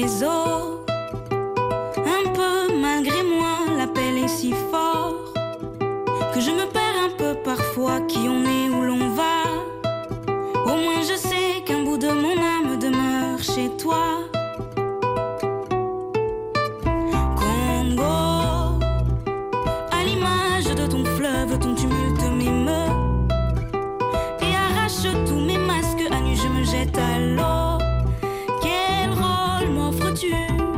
les os. Un peu malgré moi, l'appel est si fort que je me perds un peu parfois qui on est, où l'on va. Au moins je sais qu'un bout de mon âme demeure chez toi. Congo, à l'image de ton fleuve, ton tumulte m'émeut et arrache tous mes masques. À nu je me jette à l'eau. Quel rôle m'offres-tu?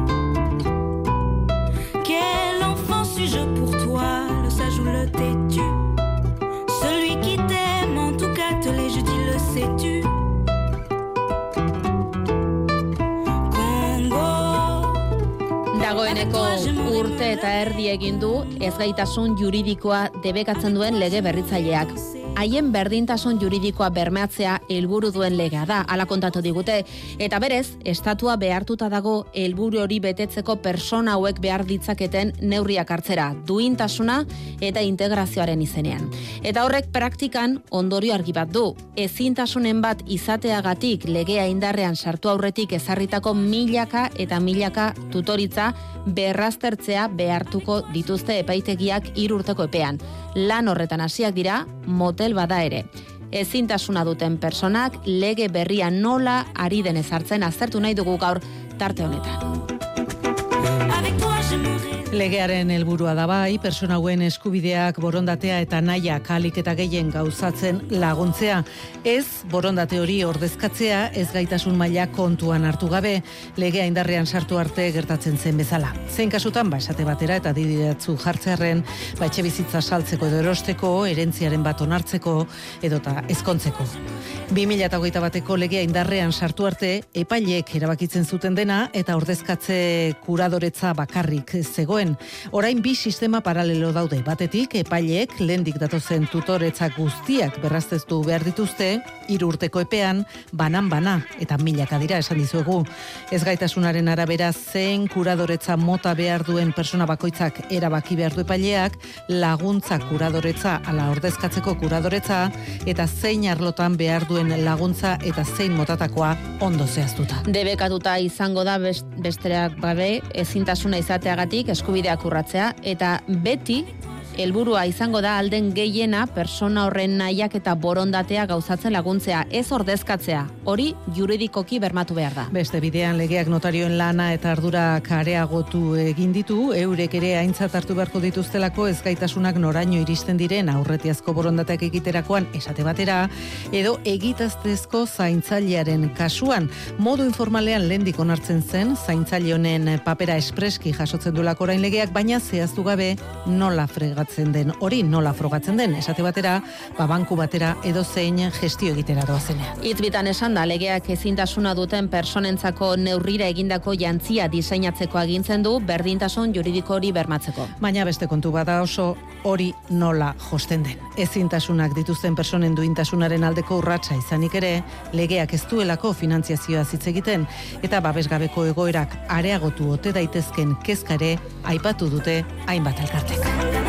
Quel enfant suis-je pour toi, le sage ou le têtu? Celui qui t'aime, en tout cas te l'ai, je dis, le sais-tu? Dagoeneko urte eta erdi egin du ezgaitasun juridikoa debekatzen duen lege berritzaileak. Haien berdintasun juridikoa bermatzea helburu duen legea da, hala kontatu digute, eta berez, estatua behartuta dago helburu hori betetzeko persona hauek behar ditzaketen neurriak hartzera, duintasuna eta integrazioaren izenean. Eta horrek praktikan ondorio argi bat du. Ezintasunen bat izateagatik legea indarrean sartu aurretik ezarritako milaka eta milaka tutoritza berraztertzea behartuko dituzte epaitegiak 3 urteko epean. Lan horretan hasiak dira, motel bada ere. Ezintasuna duten personak lege berria nola ari den ezartzen aztertu nahi dugu gaur tarte honetan. Legearen helburua da bai, persona hauen eskubideak, borondatea eta nahiak ahalik eta gehien gauzatzen laguntzea. Ez borondate hori ordezkatzea, ez gaitasun maila kontuan hartu gabe, legea indarrean sartu arte gertatzen zen bezala. Zein kasutan, esate batera eta didiratzu jartzearren, etxe bizitza saltzeko edo erosteko, herentziaren bat onartzeko edota ezkontzeko. 2021 bateko legea indarrean sartu arte, epaileek erabakitzen zuten dena eta ordezkatze kuradoretza bakarrik zegoen. Orain 2 sistema paralelo daude. Batetik, epaileek lehendik datozen tutoretza guztiak berraztestu behar dituzte, 3 urteko epean, banan-bana, eta milaka dira esan dizuegu. Ezgaitasunaren arabera zein kuradoretza mota behar duen persona bakoitzak erabaki behar du epaileak, laguntza kuradoretza ala ordezkatzeko kuradoretza, eta zein arlotan behar duen laguntza eta zein motatakoa ondo zehaztuta. Debekatuta izango da besteak gabe ezintasuna izateagatik eskubideak urratzea, eta beti helburua izango da alden gehiena persona horren nahiak eta borondatea gauzatzen laguntzea, ez ordezkatzea. Hori juridikoki bermatu behar da. Beste bidean legeak notarioen lana eta ardurak areagotu egin ditu, eurek ere aintzat hartu beharko dituztelako ezgaitasunak noraino iristen diren aurretiazko borondateak egiterakoan esate batera, edo egitaztezko zaintzailearen kasuan. Modu informalean lehendik onartzen zen, zaintzaile honen papera espreski jasotzen duelako orain legeak, baina zehaztu gabe nola fregatzen den, hori nola frogatzen den, esate batera, banku batera edo zein gestio egitera doazenean. Hitz bitan esan da, legeak ezintasuna duten personentzako neurrira egindako jantzia diseinatzeko agintzen du berdintasun juridiko hori bermatzeko. Baina beste kontu bada oso hori nola josten den. Ezintasunak dituzten personen duintasunaren aldeko urratsa izanik ere, legeak ez duelako finantziazioa hitz egiten, eta babesgabeko egoerak areagotu ote daitezken kezka ere aipatu dute hainbat elkartek.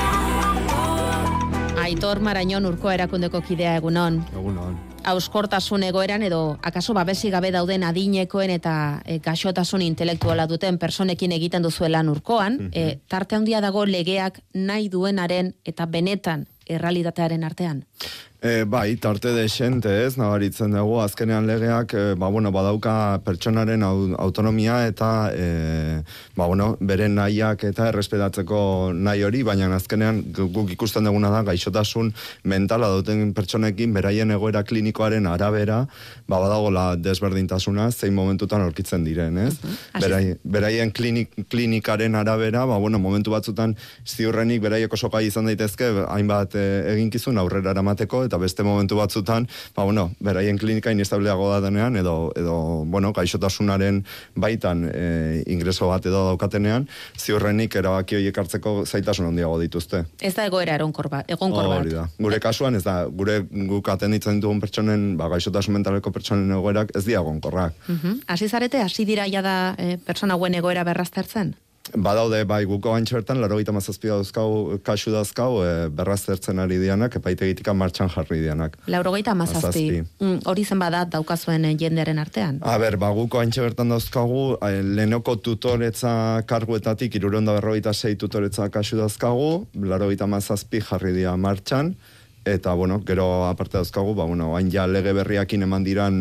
Aitor Marañon Urkoa erakundeko kidea, egunon. Egunon. Hauskortasun egoeran edo akaso babesi gabe dauden adinekoen eta gaixotasun intelektuala duten personekin egiten duzuelan Urkoan, tarte handia dago legeak nahi duenaren eta benetan errealitatearen artean? Bai, tarte desente ez, nabaritzen dugu, azkenean legeak, badauka pertsonaren autonomia eta, beren nahiak eta errespetatzeko nahi hori, baina azkenean guk ikusten duguna da, gaixotasun mentala duten pertsonekin, beraien egoera klinikoaren arabera, badagola desberdintasuna, zein momentutan aurkitzen diren, ez? Beraien klinikaren arabera, momentu batzutan ziurrenik beraiek oso gai izan daitezke, hainbat eginkizun aurrera eramateko, eta beste momentu batzutan, beraien klinika inestableago da denean, edo gaixotasunaren baitan ingreso bat edo daukatenean, ziurrenik erabaki horiek hartzeko zaitasun handiago dituzte. Ez da egoera egonkor bat. Hori da. Gure kasuan, ez da, guk atenditzen ditugun pertsonen, gaixotasun mentaleko pertsonen egoerak ez dira egonkorrak. Hasi zarete, hasi dira jada pertsona hauen egoera berraztertzen? Badaude, bai, guko bantxe bertan, 97 dauzkau, kasu dauzkau, berraztertzen ari dianak, epaitegitik martxan jarri dianak. 97. Hori zen badat daukazuen jendearen artean? Guko bantxe bertan dauzkagu, lehenoko tutoretza karguetatik, 356 tutoretza kasu dauzkagu, 97 jarri dia martxan, eta, gero aparte dauzkagu, hain ja lege berriakin eman diran,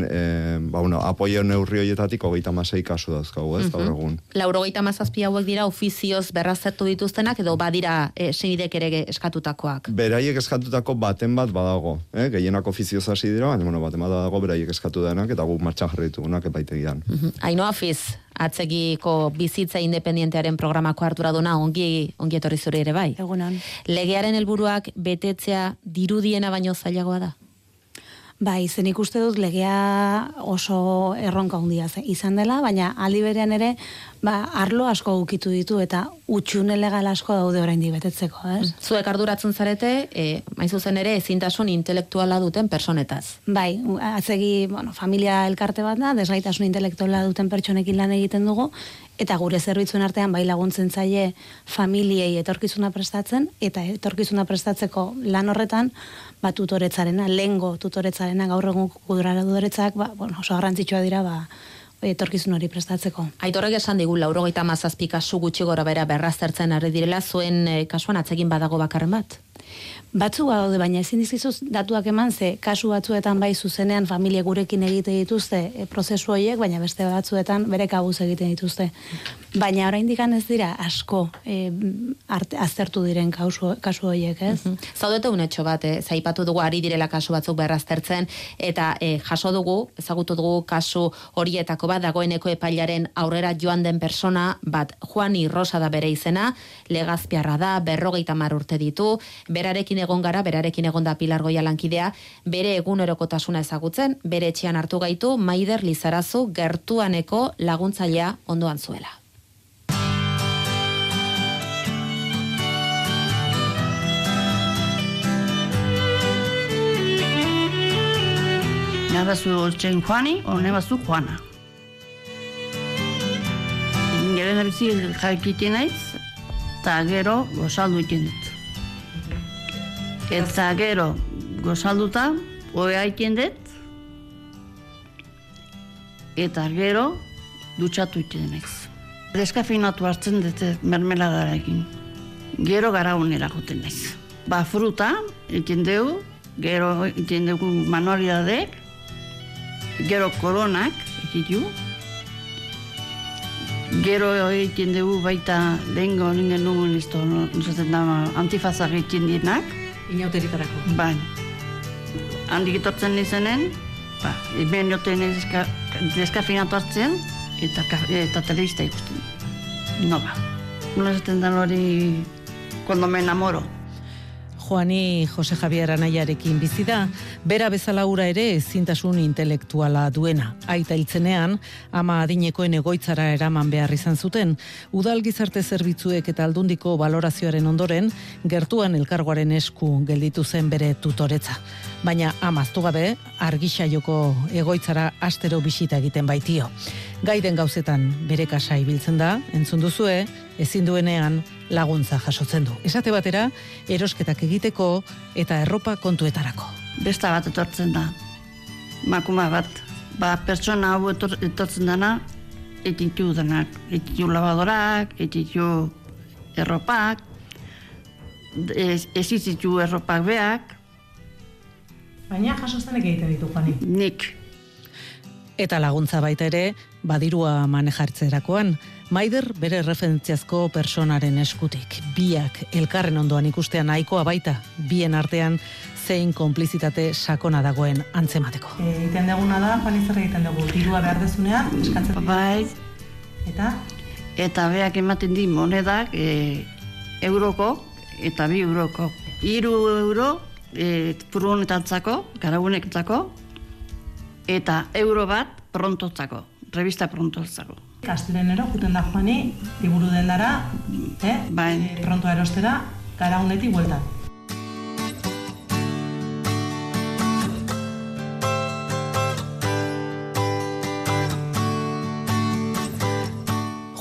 apoio neurri horietatik 36 kasu dauzkagu, ez, gaur egun. 97 hauek dira ofizioz berraztertu dituztenak, edo badira senidek ere eskatutakoak? Beraiek eskatutako baten bat badago, gehienak ofizioz hasi dira, baina baten bat badago beraiek eskatu denak, eta guk martxan jarri ditugunak epaitegian. Ainhoa Fiz, atzegiko bizitza independientearen programako arduraduna ongi etorri zure ere bai. Egunon. Legearen helburuak betetzea dirudiena baino zailagoa da? Bai, zen ikuste dut legea oso erronka handia izan dela, baina aldi berean ere, arlo asko ukitu ditu eta utxune legal asko daude oraindik betetzeko, ez? Zuek arduratzen zarete, hain zuzen ere ezintasun intelektuala duten personetaz. Bai, atzegi, familia elkarte bat da, desgaitasun intelektuala duten pertsonekin lan egiten dugu, eta gure zerbitzuen artean bai laguntzen zaie familiei etorkizuna prestatzen, eta etorkizuna prestatzeko lan horretan, tutoretzarena, lehengo tutoretzarena, gaur egun kudradoretzak, oso garrantzitsua dira, etorkizun hori prestatzeko. Aitorrek esan digu 97 kasu gutxi gora bera berraztertzen ari direla, zuen kasuan atzegin badago bakarren bat? Batzu daude, baina ezin dizkizuz datuak eman, ze kasu batzuetan bai zuzenean familia gurekin egite dituzte prozesu horiek, baina beste batzuetan bere kabuz egiten dituzte. Baina oraindik ez dira asko aztertu diren kasu horiek, ez? Zaudete unetxo bat, zaipatu dugu ari direla kasu batzuk berraztertzen, eta jaso dugu, ezagutu dugu kasu horietako bat, dagoeneko epailaren aurrera joan den persona bat, Juani Rosa da bere izena, Legazpiarra da, 50 urte ditu, berarekin egon gara, berarekin egon da Pilar Goia lankidea, bere egunerokotasuna ezagutzen, bere etxean hartu gaitu Maider Lizarazu gertuaneko laguntzailea ondoan zuela. Nabazu oltzen Juani, o nebazu Juana. Gero nabizi jaikiten naiz, eta gero gozaldu iten dut. Eta gero gozalduta, oea iten dut, eta gero dutxatu iten naiz. Deskafinatu hartzen dut mermeladarakin. Gero gara honera joten naiz. Fruta iten dugu, gero iten dugu manualidadek, gero koronak ititu, gero egiten dugu baita lehengo ningen nugun izto, antifazak egiten dienak. Inauteritarako. Bai. Handik etortzen nizenen, hemen joten deskafinatu hartzen, eta telebista ikusten. Noba. Una zaten dan hori, cuando me enamoro. Juani Jose Javier anaiarekin bizi da, bera bezala ura ere ezintasun intelektuala duena. Aita hiltzenean, ama adinekoen egoitzara eraman behar izan zuten, udal gizarte zerbitzuek eta aldundiko balorazioaren ondoren, gertuan elkargoaren esku gelditu zen bere tutoretza. Baina amaztu gabe, Argisaioko egoitzara astero bisita egiten baitio. Gaiden gauzetan bere kasa ibiltzen da, entzun duzue, ezin duenean laguntza jasotzen du. Esate batera, erosketak egiteko eta erropa kontuetarako. Besta bat etortzen da, makuma bat. Pertsona hau etortzen dana, etitu denak. Etitu lavadorak, etitu erropak, ezizitu erropak beak. Baina jasoztenek egiten ditu, Juani. Nik. Eta laguntza baita ere, badirua manejartzerakoan, Maider bere referentziazko personaren eskutik. Biak elkarren ondoan ikustean nahikoa baita, bien artean zein konplizitate sakona dagoen antzemateko. Egiten duguna da, Juani, zer egiten dugu, dirua behar dezunean, eskatzen. Bai. Eta? Eta beak ematen di monedak euroko eta 2 euroko. 3 euro furgonetantzako, garagunetantzako, eta euro bat prontotzako, revista prontotzako. Kastirenero, juten da Juani, liburu dendara, bai. Pronto erostera, garagunetik bueltan.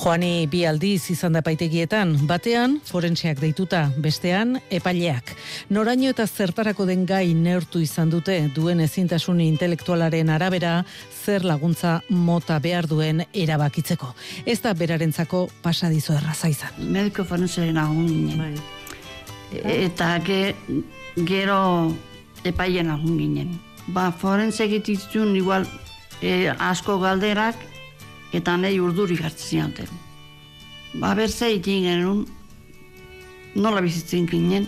Joani bi aldiz izan da epaitegietan, batean forenseak deituta, bestean epaileak. Noraino eta zertarako den gai neurtu izan dute, duen ezintasun intelektualaren arabera, zer laguntza mota behar duen erabakitzeko. Ez da berarentzako pasadizo erraza izan. Mediko forensaren lagun ginen. Eta gero epaien lagun ginen. Forense egititzun igual asko galderak eta nahi urdurik hartzen zianten. Berze egin genuen, nola bizitzen ginen,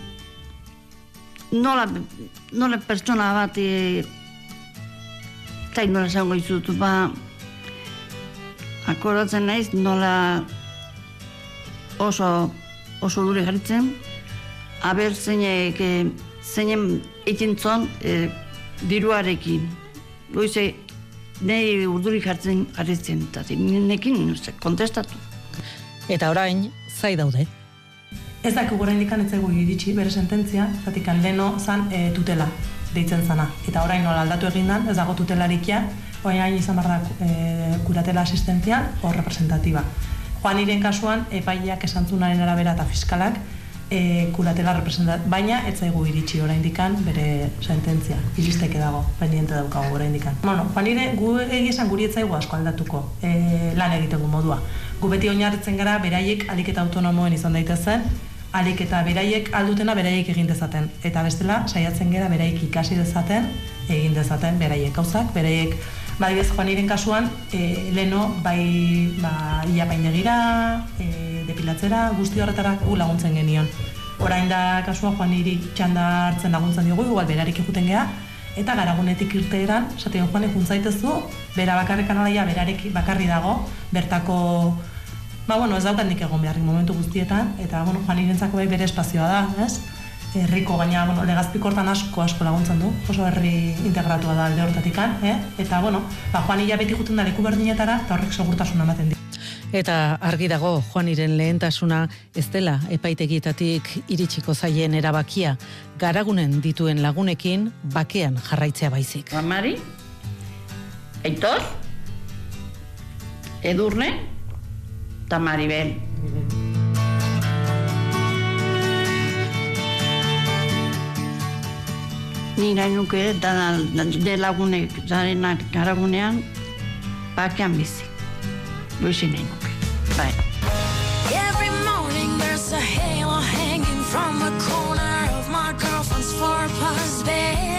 nola pertsona bat, eta nola zango izut, akordatzen naiz, nola oso dure jarritzen, zeinen egin zon diruarekin. Goize, nahi urdurik hartzen eta nekin kontestatu. Eta orain, zai daude. Ez dakik gura indikan etzaigu iritsi bere sententzia, zatikan leno zan tutela deitzen zana. Eta orain nola aldatu egindan, ez dago tutelarikia, orain izan behar da kuratela asistentzia o representatiba. Joaniren kasuan, epaileak esantzunaren arabera eta fiskalak kuratela representatiba, baina ez zaigu iritsi oraindikan bere sententzia. Iristeke dago, pendiente daukagu oraindikan. Bueno, Juanire, gu egizan guri ez zaigu asko aldatuko lan egiteko modua. Gu beti oinarritzen gara beraiek alik eta autonomoen izan daitezen, alik eta beraiek aldutena beraiek egin dezaten. Eta bestela, saiatzen gara beraiek ikasi dezaten, egin dezaten beraiek gauzak, beraiek badibez Juaniren kasuan, leno bai ilapaindegira, depilatzera, guzti horretara laguntzen genion. Orain da kasua Juaniri txanda hartzen laguntzen diogu, igual berarik egiten geha, eta garagunetik irteeran, esaten Juanek juntzaitezu, bera bakarrekan alaia berarek bakarri dago, bertako, ez daukan nik egon beharrik momentu guztietan, eta Juanirentzako bai bere espazioa da, ez? Herriko gaina, Legazpiko hortan asko laguntzen du, oso herri integratua da alde hortatikan, eta, Juanila beti juten da leku berdinetara, eta horrek segurtasuna ematen di. Eta argi dago, Juaniren lehentasuna ez dela epaitegietatik iritsiko zaien erabakia, garagunen dituen lagunekin bakean jarraitzea baizik. Mari, Aitor, Edurne, eta Maribel. Ni nahi nuke de lagunek zarenak garagunean bakean bizi. Goizin nahi nuke. Bai. Every morning there's a halo hanging from the corner of my girlfriend's four-plus bed.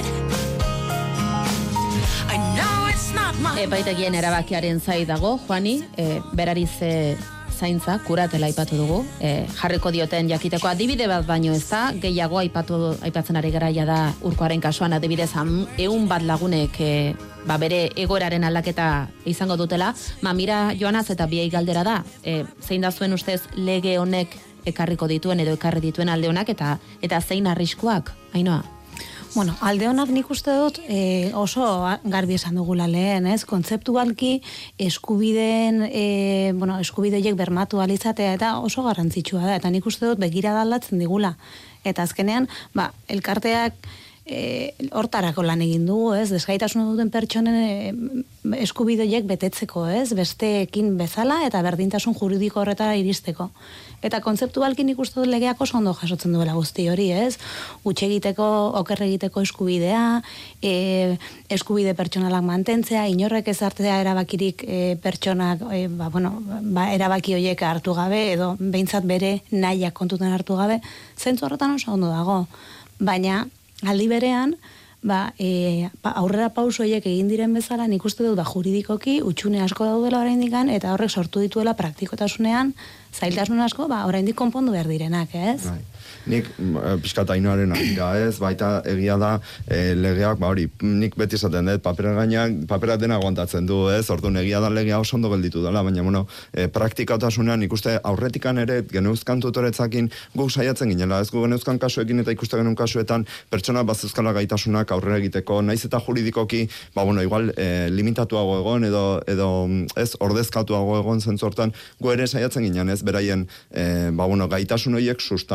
I know it's not my... Epaitegien erabakiaren zai dago, Juani, berari ze zaintza, kuratela aipatu dugu, jarriko dioten jakiteko adibide bat baino ez da, gehiago aipatzen ari garaia da Urkoaren kasuan adibidez 100 lagunek bere egoeraren aldaketa izango dutela, Mira Joanaz eta biei galdera da, zein da zuen ustez lege honek ekarriko dituen edo ekarri dituen alde honak eta zein arriskuak, Ainhoa? Alde honak nik uste dut oso garbi esan dugula lehen, ez? Kontzeptualki eskubideen, eskubideek bermatu alizatea eta oso garrantzitsua da, eta nik uste dut begirada aldatzen digula. Eta azkenean, elkarteak hortarako lan egin dugu, ez? Desgaitasuna duten pertsonen eskubideek betetzeko, ez? Besteekin bezala eta berdintasun juridiko horretara iristeko. Eta kontzeptualki nik uste dut legeak oso ondo jasotzen duela guzti hori, ez? Utxe egiteko, oker egiteko eskubidea, eskubide pertsonalak mantentzea, inorrek ez hartzea erabakirik pertsonak, erabaki horiek hartu gabe, edo behintzat bere nahiak kontutan hartu gabe, zentzu horretan oso ondo dago. Baina, aldi berean, aurrera pauso horiek egin diren bezala, nik uste dut juridikoki utxune asko daudela oraindikan, eta horrek sortu dituela praktikotasunean, zailtasun asko, oraindik konpondu behar direnak, ez? Nik pixkat Ainhoaren agira, ez? Baita egia da legeak, nik beti esaten dut, papera dena aguantatzen du, ez? Orduan egia da legea oso ondo gelditu dela, baina, praktikotasunean ikuste aurretikan ere geneuzkan tutoretzakin guk saiatzen ginela, ez? Gu geneuzkan kasuekin eta ikuste genuen kasuetan pertsona bazuzkala gaitasunak aurrera egiteko, naiz eta juridikoki, igual limitatuago egon edo ez ordezkatuago egon zentzortan, gu ere saiatzen ginen, ez? Beraien, gaitasun horiek sustatzen, ez?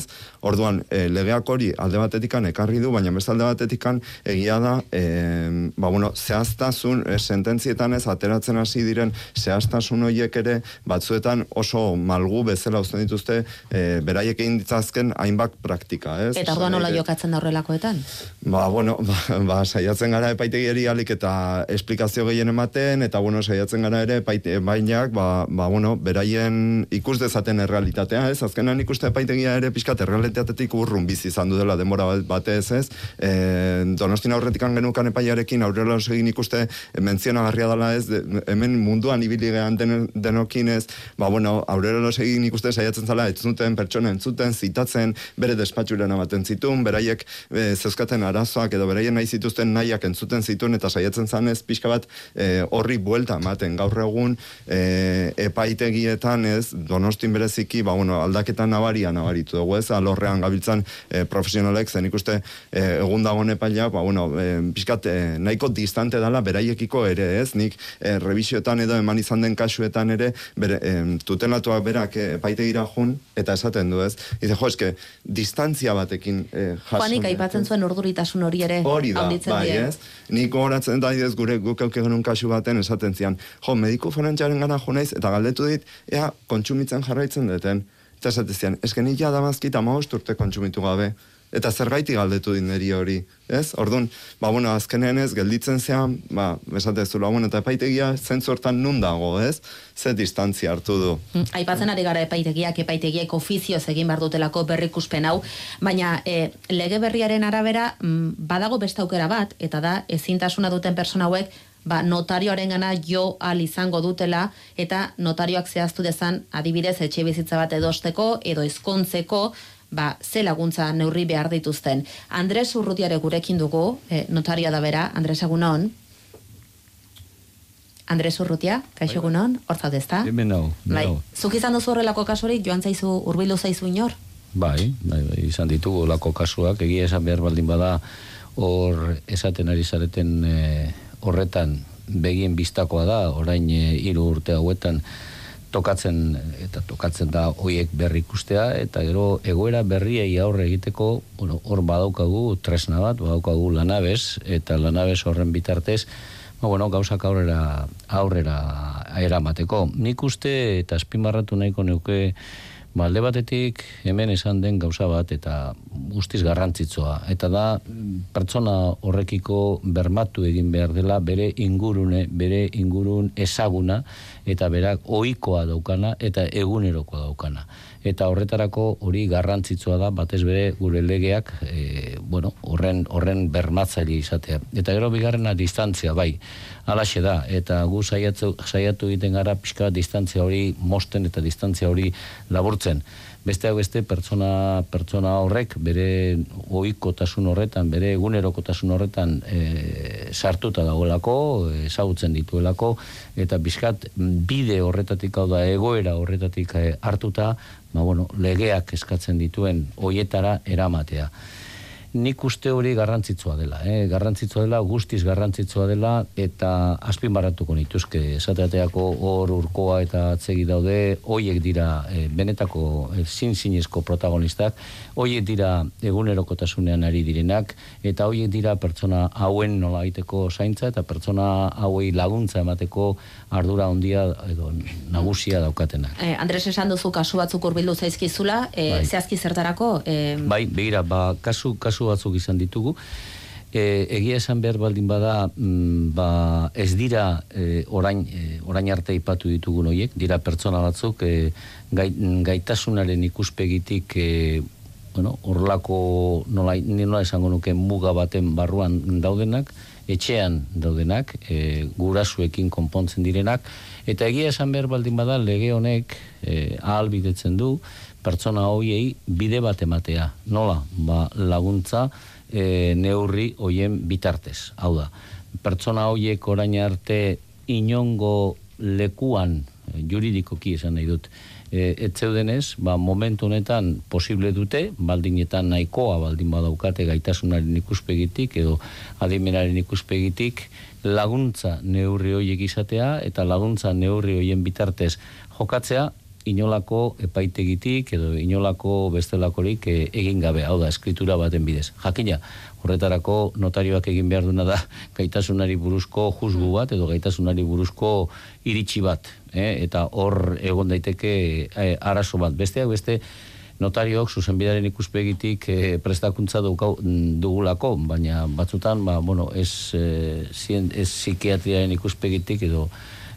ez? Orduan, legeak hori alde batetikan ekarri du, baina beste alde batetikan egia da, zehaztasun, sententzietan ez, ateratzen hasi diren zehaztasun horiek ere, batzuetan oso malgu bezala uzten dituzte, beraiek egin ditzazken hainbat praktika, ez? Eta orduan nola jokatzen da horrelakoetan? Saiatzen gara epaitegiari alik eta esplikazio gehien ematen, eta saiatzen gara ere epaitegiak, beraien ikus dezaten errealitatea, ez? Azkenan ikuste epaitegia ere pixkat errealitatetik urrun bizi izan du dela denbora batez, ez? Donostin aurretikan genukan epaiarekin Aurrera Losegin ikuste mentzionagarria dela, ez? Hemen munduan ibili gehan denokin, ez? Aurrera Losegin ikuste saiatzen zala, ez zuten pertsona entzuten, zitatzen, bere despatxuren ematen zituen, beraiek zeuzkaten arazoak edo beraien nahi zituzten nahiak entzuten zituen, eta saiatzen zanez pixka bat horri buelta ematen gaur egun epaitegietan, ez, Donostin bereziki, aldaketa nabaritu dugu, ez, alorrean gabiltzan profesionalek, zen ikuste egun dagoen epailea, pixkat nahiko distante dela beraiekiko ere, ez, nik revisioetan edo eman izan den kasuetan ere, tutelatuak berak epaitegira jun, eta esaten du, ez, eske, distantzia batekin jasun. Juanik aipatzen zuen urduritasun hori ere handitzen dira. Ez? Nik horatzen da, guk eukegenun kasu baten esaten zian, mediku forentzaren gara jo naiz, eta galdetu dit, ea, kontsumitzen jarraitzen deten. Eta esaten zian, eske nik jadamazkita 15 urte kontsumitu gabe. Eta zergaiti galdetu din neri hori, ez? Orduan, azkenean ez, gelditzen zean, esatezula, eta epaitegia zentzu hortan nun dago, ez? Ze distantzia hartu du. Aipatzen ari gara epaitegiek ofizioz egin behar dutelako berrikuspen hau, baina lege berriaren arabera badago beste aukera bat, eta da, ezintasuna duten persona hauek, notarioaren gana jo al izango dutela, eta notarioak zehaztu dezan, adibidez, etxe bizitza bat edosteko, edo ezkontzeko, ze laguntza neurri behar dituzten. Andres Urrutiare gurekin dugu, notarioa da bera. Andres, egunon? Andres Urrutia, kaixo egunon? Hor zaude, ezta? Hemen hau. Zuk izan duzu horrelako kasurik, joan zaizu, urbildu zaizu inor? Bai, izan ditugu lako kasuak, egia esan behar baldin bada, hor esaten ari zareten horretan begien bistakoa da, orain 3 urte hauetan, tokatzen da hoiek berri ikustea, eta gero egoera berriei aurre egiteko, hor badaukagu tresna bat, badaukagu Lanabes, eta Lanabes horren bitartez, gauzak aurrera eramateko. Nik uste, eta azpimarratu nahiko neuke, alde batetik hemen esan den gauza bat, eta guztiz garrantzitsua, eta da pertsona horrekiko bermatu egin behar dela bere ingurun ezaguna, eta berak ohikoa daukana, eta egunerokoa daukana. Eta horretarako hori garrantzitsua da, batez bere gure legeak, horren bermatzaile izatea. Eta gero bigarrena distantzia, bai, halaxe da, eta gu saiatu egiten gara pixka distantzia hori mosten eta distantzia hori laburtzen. Besteak beste pertsona horrek bere ohikotasun horretan, bere egunerokotasun horretan sartuta dagoelako, ezagutzen dituelako, eta bizkat bide horretatik, hau da, egoera horretatik hartuta, legeak eskatzen dituen hoietara eramatea. Nik uste hori garrantzitsua dela, guztiz garrantzitsua dela, eta azpimarratuko nituzke, esateateako hor urkoa eta atzegi daude, hoiek dira benetako zinezko protagonistak, hoiek dira egunerokotasunean ari direnak, eta hoiek dira pertsona hauen nola egiteko zaintza, eta pertsona hauei laguntza emateko ardura handia edo nagusia daukatenak. Andres, esan duzu kasu batzuk hurbildu zaizkizula, zehazki zertarako? Bai, begira, kasu batzuk izan ditugu. Egia esan behar baldin bada, ez dira orain arte ipatu ditugun horiek, dira pertsona batzuk gaitasunaren ikuspegitik horrelako nola esango nuke muga baten barruan daudenak, etxean daudenak, gurasuekin konpontzen direnak, eta egia esan behar baldin bada lege honek ahalbidetzen du pertsona horiei bide bat ematea. Nola? Laguntza neurri hoien bitartez. Hau da, pertsona horiek orain arte inongo lekuan, juridikoki esan nahi dut, etzeudenez, momentu honetan posible dute, baldinetan nahikoa baldin badaukate gaitasunaren ikuspegitik edo adimenaren ikuspegitik, laguntza neurri horiek izatea eta laguntza neurri horien bitartez jokatzea, inolako epaitegitik edo inolako bestelakorik egin gabe, hau da, eskritura baten bidez. Jakina, horretarako notarioak egin behar duna da gaitasunari buruzko juzgu bat edo gaitasunari buruzko iritsi bat, eta hor egon daiteke arazo bat. Besteak beste, notariok zuzenbidearen ikuspegitik prestakuntza dugulako, baina batzutan, ez psikiatriaren ikuspegitik edo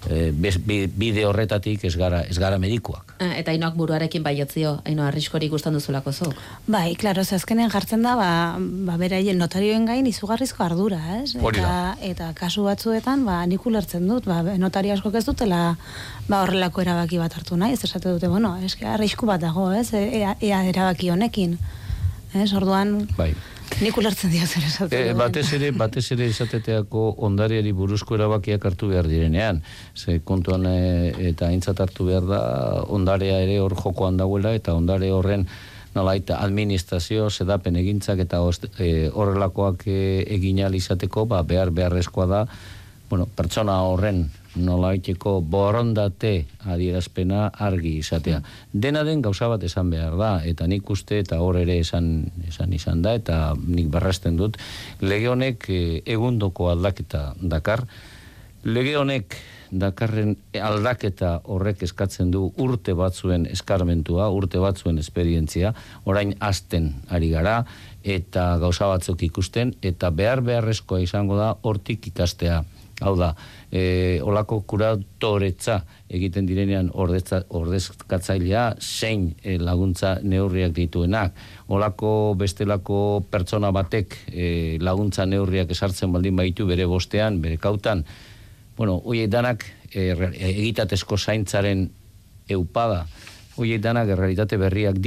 bide horretatik ez gara medikuak. Eta Ainoak buruarekin baiotzio, Ainoa, arriskorik gustan duzulako zuk? Bai, klaro, azkenen jartzen da, beraien notarioen gain izugarrizko ardura, ez? Eta kasu batzuetan, nik ulertzen dut, notario askok ez dutela horrelako erabaki bat hartu nahi, ez esate dute, arrisku bat dago, ez? Ea erabaki honekin. Ez, orduan... Bai. Nik ulertzen dira zer esatzen. Batez ere esateteako ondareari buruzko erabakiak hartu behar direnean. Ze kontuan eta aintzat hartu behar da ondarea ere hor jokoan dagoela eta ondare horren nolaita administrazio, sedapen egintzak eta horrelakoak egin ahal izateko beharrezkoa da pertsona horren nolaiteko borondate adierazpena argi izatea. Dena den gauza bat esan behar da, eta nik uste eta hor ere esan izan da, eta nik barrasten dut, lege honek egundoko aldaketa dakar. Lege honek dakarren aldaketa horrek eskatzen du urte batzuen eskarmentua, urte batzuen esperientzia, orain hasten ari gara, eta gauza batzuk ikusten, eta beharrezkoa izango da hortik ikastea. Hau da, olako kuratoretza egiten direnean ordezkatzailea zein laguntza neurriak dituenak. Olako bestelako pertsona batek laguntza neurriak esartzen baldin baitu bere bostean, bere kautan. Horiek danak egitatezko zaintzaren eupada. Horiek danak errealitate berriak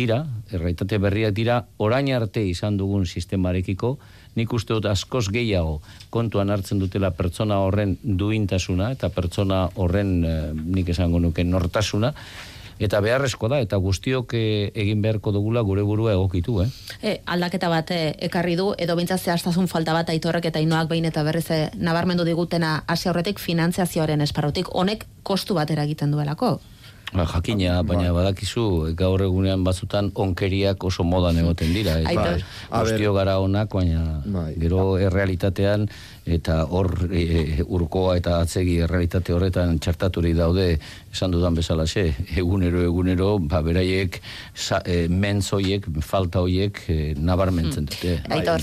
dira, orain arte izan dugun sistemarekiko, nik uste dut askoz gehiago kontuan hartzen dutela pertsona horren duintasuna eta pertsona horren nik esango nuke nortasuna, eta beharrezko da, eta guztiok egin beharko dugula gure burua egokitu. Aldaketa bat ekarri du, edo bintzat zehaztasun falta bat Aitorrek eta Ainoak behin eta berriz nabarmendu digutena hasi horretik finantziazioaren esparrutik, honek kostu bat eragiten duelako. Jakina, baina badakizu gaur egunean batzutan onkeriak oso modan egoten dira. Guztio gara onak, baina gero errealitatean eta hor urkoa eta atzegi errealitate horretan txartaturi daude, esan dudan bezalaxe, egunero, beraiek mentz hoiek, falta hoiek nabarmentzen dute.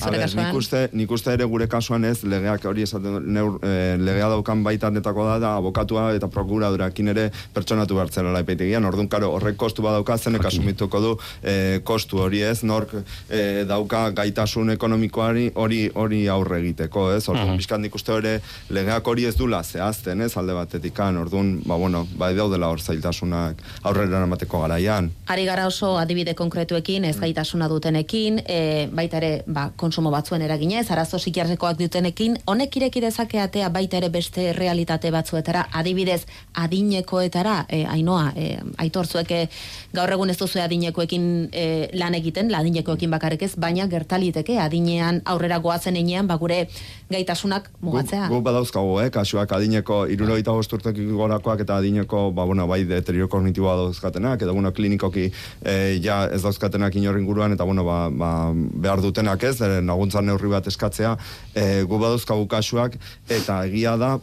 Nik uste ere gure kasuan ez, legeak hori esaten legea daukan baitanetako da abokatua eta prokuradurakin ere pertsonatu bertzela epaitegian, orduan karo horrek kostu badauka, zenek asumituko du kostu hori ez, nork dauka gaitasun ekonomikoari hori aurre egiteko, ez? Orduan bizkat nik uste hori legeak hori ez dula zehazten, ez? Alde batetikan, orduan, daudela hor zailtasunak aurrera eramateko garaian. Ari gara oso adibide konkretuekin, ez gaitasuna dutenekin, baita ere konsumo batzuen eraginez, arazo psikiatrikoak dutenekin, honek ireki dezake atea baita ere beste realitate batzuetara, adibidez adinekoetara, Ainoa, Aitor, zuek gaur egun ez duzu adinekoekin lan egiten, adinekoekin bakarrik ez, baina gertaliteke adinean aurrera goazen enean, gure gaitasunak mugatzea. Gu badauzkago, kasuak adineko 75 urtetik gorakoak eta adineko bai deterio kognitiboa dauzkatenak, eta klinikoki ja ez dauzkatenak inorren guruan, eta behar dutenak ez, laguntza neurri bat eskatzea, gu badauzkagu kasuak, eta egia da,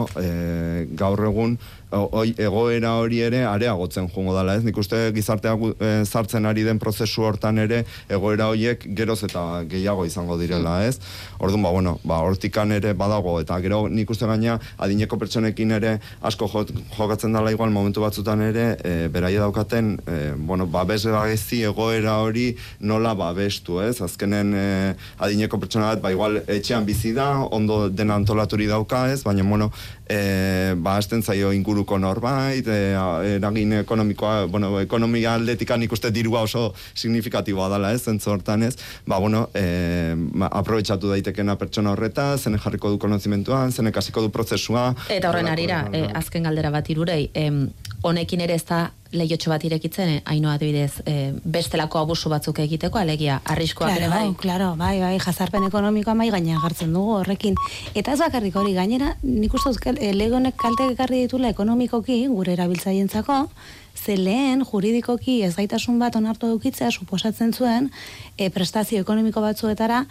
gaur egun egoera hori ere areagotzen joango dela, ez? Nik uste gizarteak sartzen ari den prozesu hortan ere egoera horiek geroz eta gehiago izango direla, ez? Orduan, hortikan ere badago, eta gero nik uste gaina adineko pertsonekin ere asko jokatzen dela igual momentu batzutan ere beraia daukaten, babes gezi egoera hori nola babestu, ez? Azkenen adineko pertsona bat, igual etxean bizi da, ondo dena antolaturi dauka, ez? Baina, hasten zaio inguruko norbait, eragin ekonomikoa, ekonomia aldetikan ikuste dirua oso signifikatiboa dela, ez, zentzu hortan ez, aprobetxatu daitekena pertsona horreta, zene jarriko du konozimentuan, zene kasiko du prozesua. Eta horren arira, azken galdera bat irurei, honekin ere ez da lehiotxo bat irekitzen, Ainoa adibidez, bestelako abusu batzuk egiteko, alegia, arriskoak ere bai? Claro, bai, jazarpen ekonomikoa mai gaina jartzen dugu horrekin. Eta ez bakarrik hori gainera, nik uste lege honek kalte ekarri ditula ekonomikoki, gure erabiltzaientzako, Ze lehen juridikoki ezgaitasun bat onartu edukitzea suposatzen zuen prestazio ekonomiko batzuetara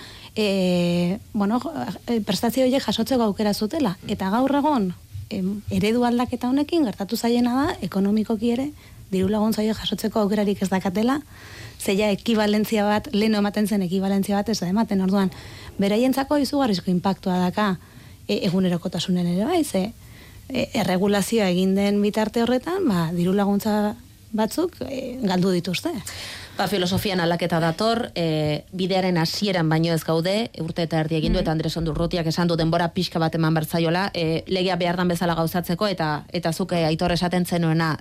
prestazio horiek jasotzeko aukera zutela. Eta gaur egon eredu aldaketa honekin gertatu zaiena da ekonomikoki ere diru laguntza jasotzeko aukerarik ez dakatela, zeia ekibalentzia bat, lehen ematen zen ekibalentzia bat ez da ematen, orduan, beraientzako izugarrizko inpaktua daka egunerokotasunen ere bai, ze erregulazioa egin den bitarte horretan, diru laguntza batzuk galdu dituzte. Filosofian aldaketa dator, bidearen hasieran baino ez gaude, urte eta erdi egin du, eta Andres Ondurrutiak esan du denbora pixka bat eman bertzaiola, legea behar dan bezala gauzatzeko, eta zuk Aitor esaten zenuena,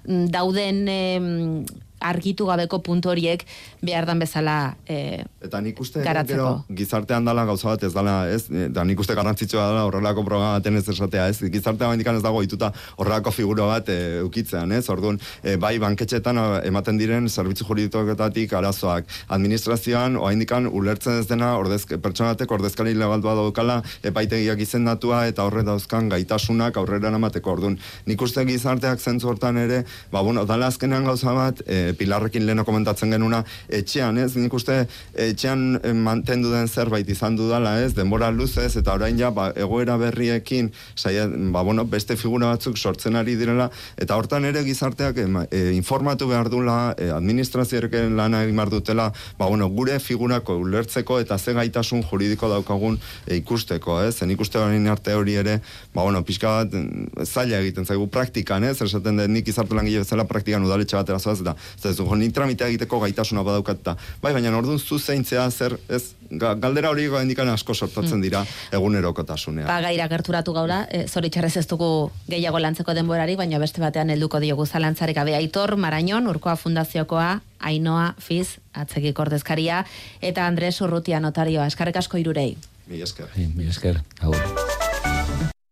dauden argitu gabeko puntu horiek behar dan bezala eta nik uste garatzeko. Gizartean dala gauza bat ez dala, ez? Da nik uste garrantzitsua dela horrelako programa baten ez esatea, ez? Gizartean indikan ez dago ituta horrelako figura bat ukitzean, ez? Orduan, bai banketxetan ematen diren zerbitzu juridikoetatik arazoak. Administrazioan, oaindikan ulertzen ez dena pertsonatek ordezkari legal bat daukala epaitegiak izendatua eta horre dauzkan gaitasunak aurrera emateko. Orduan, nik uste gizarteak zentzu hortan ere, dala azkenean gauza bat, Pilarrekin leheno komentatzen genuna, etxean, ez? Nik uste etxean mantendu den zerbait izan dudala, ez? Denbora luzez, eta orain ja, egoera berriekin, beste figura batzuk sortzen ari direla, eta hortan ere gizarteak informatu behar dula, administrazioerekin lana egin behar dutela, gure figurako ulertzeko eta ze gaitasun juridiko daukagun ikusteko, ez? Nik uste orain arte hori ere, pixka bat zaila egiten zaigu praktikan, ez? Esaten den nik izarte langile bezala praktikan udaletxe batera zoaz, eta nik tramitea egiteko gaitasuna badaukat eta baina orduan zuzeintzea zer, ez, galdera hori indikan asko sortatzen dira egunerokotasunean. Gaira gerturatu gaula, zoritxarrez ez dugu gehiago lantzeko denborari, baina beste batean helduko diogu zalantzarik gabe. Aitor Marañon, Urkoa Fundaziokoa, Ainhoa Fiz, atzekik ordezkaria, eta Andres Urrutia notarioa. Eskerrik asko hirurei. Mila esker. Mila esker. Agur.